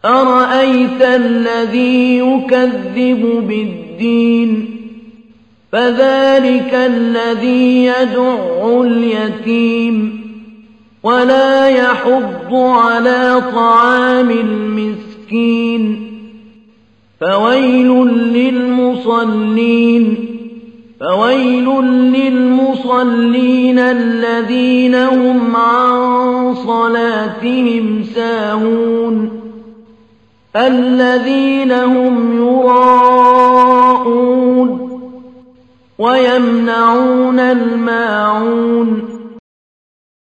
أرأيت الذي يكذب بالدين فذلك الذي يدع اليتيم ولا يحض على طعام المسكين فويل للمصلين الذين هم عن صلاتهم ساهون الذين هم يراءون ويمنعون الماعون